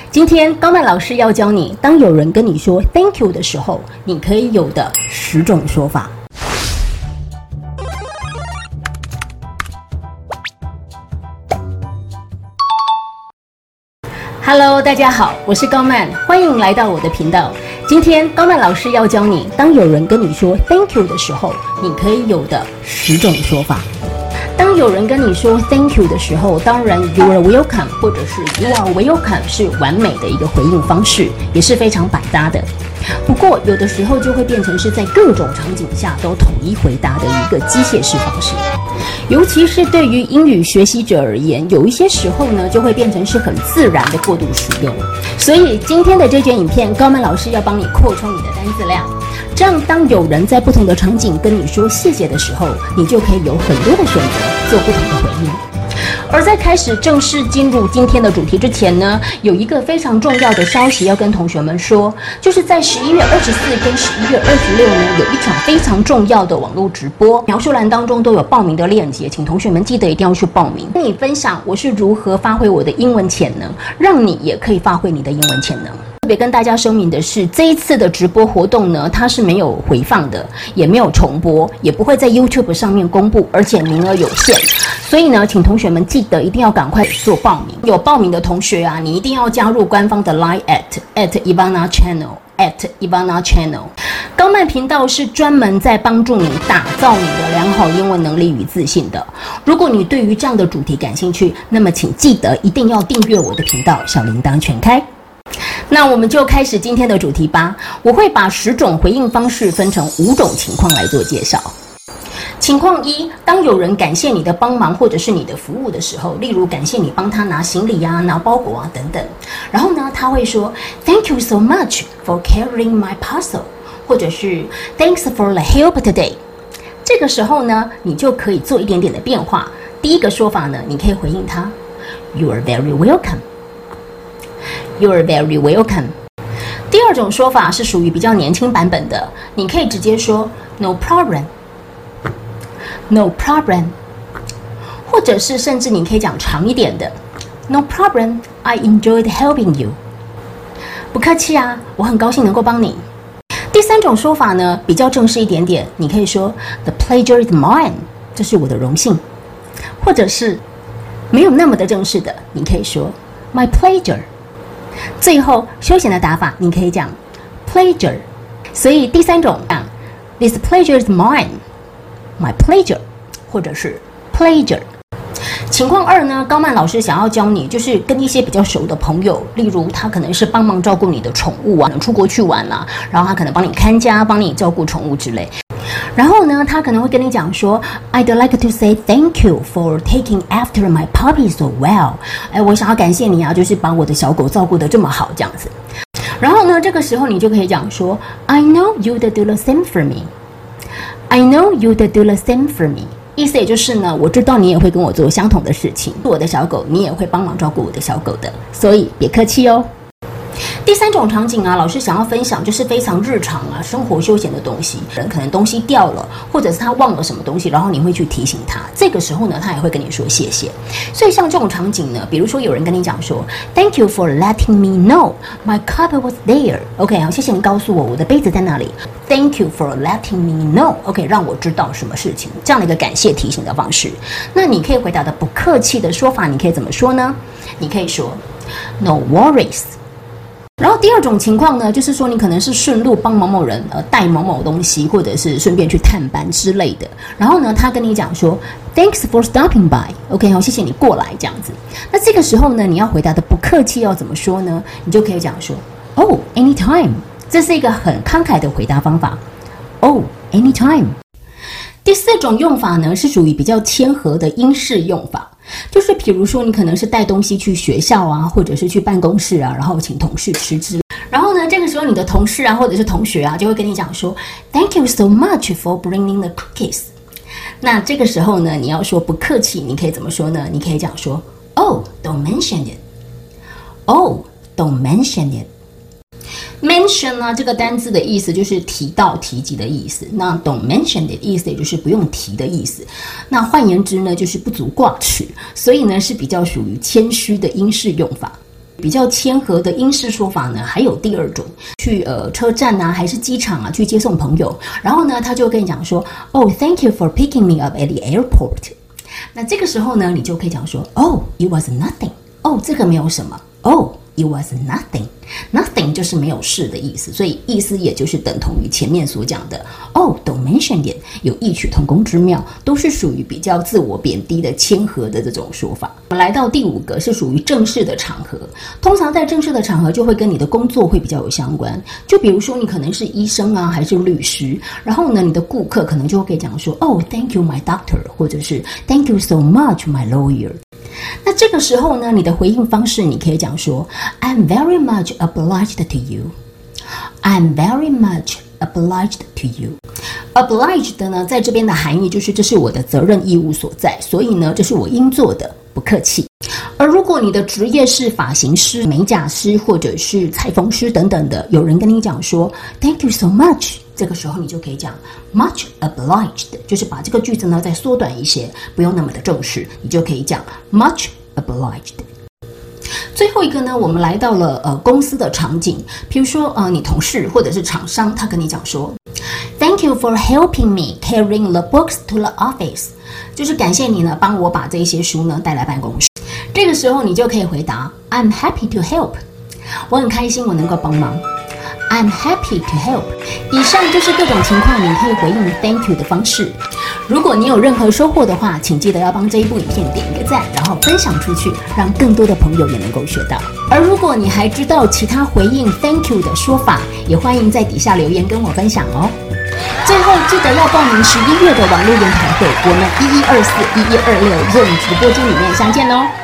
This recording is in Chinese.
今天高曼老师要教你，当有人跟你说 Thank you 的时候，你可以有的10种说法。Hello， 大家好，我是高曼，欢迎来到我的频道。今天高曼老师要教你，当有人跟你说 Thank you 的时候，你可以有的10种说法。当有人跟你说 Thank you 的时候，当然 You are welcome 或者是 You are welcome 是完美的一个回应方式，也是非常百搭的。不过有的时候就会变成是在各种场景下都统一回答的一个机械式方式，尤其是对于英语学习者而言，有一些时候呢就会变成是很自然的过度使用。所以今天的这卷影片，高曼老师要帮你扩充你的单字量，这样当有人在不同的场景跟你说谢谢的时候，你就可以有很多的选择做不同的回应。而在开始正式进入今天的主题之前呢，有一个非常重要的消息要跟同学们说，就是在11月24跟11月26呢，有一场非常重要的网络直播，描述栏当中都有报名的链接，请同学们记得一定要去报名。跟你分享我是如何发挥我的英文潜能，让你也可以发挥你的英文潜能。特别跟大家声明的是，这一次的直播活动呢，它是没有回放的，也没有重播，也不会在 YouTube 上面公布，而且名额有限。所以呢，请同学们记得一定要赶快做报名。有报名的同学啊，你一定要加入官方的 Line at Ivana Channel。高曼频道是专门在帮助你打造你的良好英文能力与自信的。如果你对于这样的主题感兴趣，那么请记得一定要订阅我的频道，小铃铛全开。那我们就开始今天的主题吧。我会把10种回应方式分成5种情况来做介绍。情况1，当有人感谢你的帮忙或者是你的服务的时候，例如感谢你帮他拿行李啊、拿包裹啊等等，然后呢，他会说 Thank you so much for carrying my parcel， 或者是 Thanks for the help today。 这个时候呢，你就可以做一点点的变化。第一个说法呢，你可以回应他 You are very welcome。You are very welcome。 第二种说法是属于比较年轻版本的，你可以直接说 No problem。No problem， 或者是甚至你可以讲长一点的 No problem, I enjoyed helping you。 不客气啊，我很高兴能够帮你。第3种说法呢，比较正式一点点，你可以说 The pleasure is mine， 这是我的荣幸。或者是没有那么的正式的，你可以说 My pleasure。 最后休闲的打法，你可以讲 pleasure。 所以第3种This pleasure is mine，My pleasure， 或者是 pleasure。 情况2呢，高曼老师想要教你，就是跟一些比较熟的朋友，例如他可能是帮忙照顾你的宠物啊，出国去玩啊，然后他可能帮你看家，帮你照顾宠物之类。然后呢，他可能会跟你讲说 I'd like to say thank you for taking after my puppy so well。 我想要感谢你啊，就是把我的小狗照顾得这么好这样子。然后呢，这个时候你就可以讲说 I know you'd do the same for me。I know you'd do the same for me， 意思也就是呢，我知道你也会跟我做相同的事情，我的小狗你也会帮忙照顾我的小狗的，所以别客气哦。第3种场景啊，老师想要分享就是非常日常啊，生活休闲的东西，人可能东西掉了，或者是他忘了什么东西，然后你会去提醒他，这个时候呢，他也会跟你说谢谢。所以像这种场景呢，比如说有人跟你讲说 Thank you for letting me know my cup was there。 OK， 好，谢谢你告诉我的杯子在哪里。 Thank you for letting me know， OK， 让我知道什么事情，这样的一个感谢提醒的方式。那你可以回答的不客气的说法，你可以怎么说呢？你可以说 No worries。然后第2种情况呢，就是说你可能是顺路帮某某人带某某东西，或者是顺便去探班之类的。然后呢，他跟你讲说 Thanks for stopping by， 好，谢谢你过来这样子。那这个时候呢，你要回答的不客气要怎么说呢？你就可以讲说 Oh anytime， 这是一个很慷慨的回答方法。Oh anytime。第4种用法呢，是属于比较谦和的英式用法，就是比如说你可能是带东西去学校啊，或者是去办公室啊，然后请同事吃之类。然后呢，这个时候你的同事啊，或者是同学啊，就会跟你讲说 Thank you so much for bringing the cookies。 那这个时候呢，你要说不客气，你可以怎么说呢？你可以讲说 Oh don't mention it。 Oh don't mention it。Mention 呢，这个单字的意思就是提到、提及的意思。那 don't mention it 意思也就是不用提的意思。那换言之呢，就是不足挂齿，所以呢是比较属于谦虚的英式用法。 比较谦和的英式说法呢，还有第二种，去车站啊，还是机场啊，去接送朋友，然后呢，他就跟你讲说 ，Oh, thank you for picking me up at the airport。那这个时候呢，你就可以讲说 ，Oh, it was nothing。哦，这个没有什么。Oh, it was nothing。Nothing 就是没有事的意思，所以意思也就是等同于前面所讲的。Oh, don't mention it， 有异曲同工之妙，都是属于比较自我贬低的谦和的这种说法。我们来到第5个是属于正式的场合，通常在正式的场合就会跟你的工作会比较有相关。就比如说你可能是医生啊，还是律师，然后呢，你的顾客可能就会讲说 ，Oh, thank you, my doctor， 或者是 Thank you so much, my lawyer。那这个时候呢，你的回应方式你可以讲说 I'm very much obliged to you. I'm very much obliged to you. Obliged 呢，在这边的含义就是这是我的责任义务所在，所以呢，这是我应做的，不客气。而如果你的职业是发型师、美甲师或者是裁缝师等等的，有人跟你讲说 Thank you so much， 这个时候你就可以讲 much obliged， 就是把这个句子呢再缩短一些，不用那么的正式，你就可以讲 much obliged。最后一个呢，我们来到了公司的场景，比如说你同事或者是厂商，他跟你讲说 Thank you for helping me carrying the books to the office， 就是感谢你呢帮我把这些书呢带来办公室。这个时候你就可以回答 I'm happy to help， 我很开心我能够帮忙。I'm happy to help。 以上就是各种情况你可以回应 Thank you 的方式。如果你有任何收获的话，请记得要帮这一部影片点一个赞，然后分享出去，让更多的朋友也能够学到。而如果你还知道其他回应 Thank you 的说法，也欢迎在底下留言跟我分享哦。最后记得要报名11月的网络研讨会，我们1124、1126 Zoom 直播间里面相见哦。